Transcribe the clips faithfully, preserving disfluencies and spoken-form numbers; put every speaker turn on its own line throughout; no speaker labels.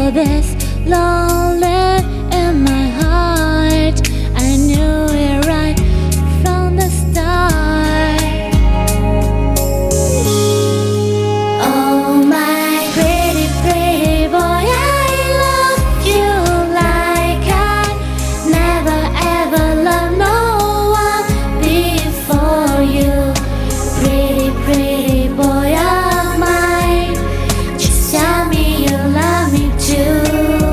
feel this lonely in my heart. I knew it right from the start. Oh my pretty, pretty boy, I love you like I never ever loved no one before you. Pretty, pretty boy of mine, just tell me you love me too.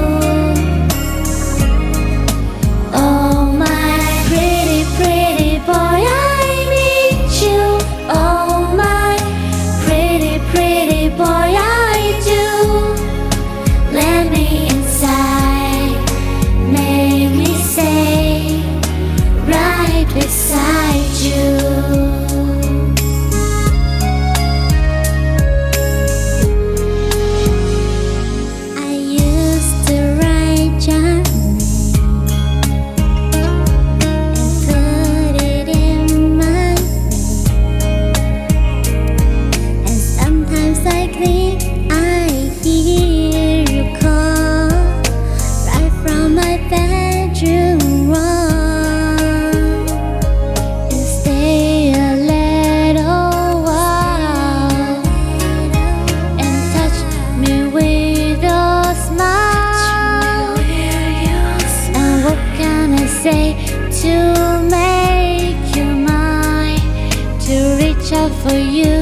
Oh my pretty, pretty boy, I need you. Oh my pretty, pretty boy, I do. Let me inside, make me stay right beside you. Say to make you mine, to reach out for you.